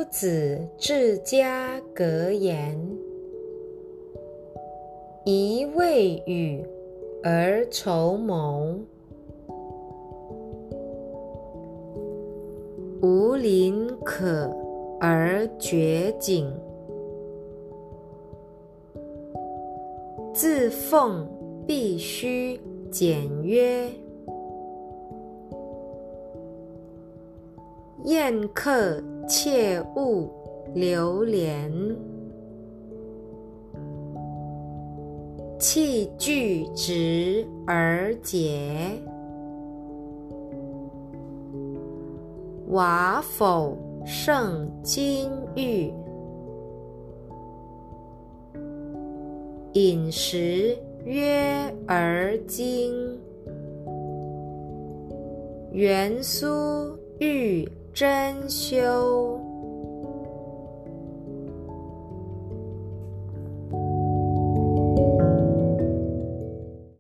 子治家格言：一未雨而绸缪，无林可而绝井，自奉必须简约，宴客切勿流连，器具直而洁，瓦否胜金玉，饮食约而精，元苏玉珍馐，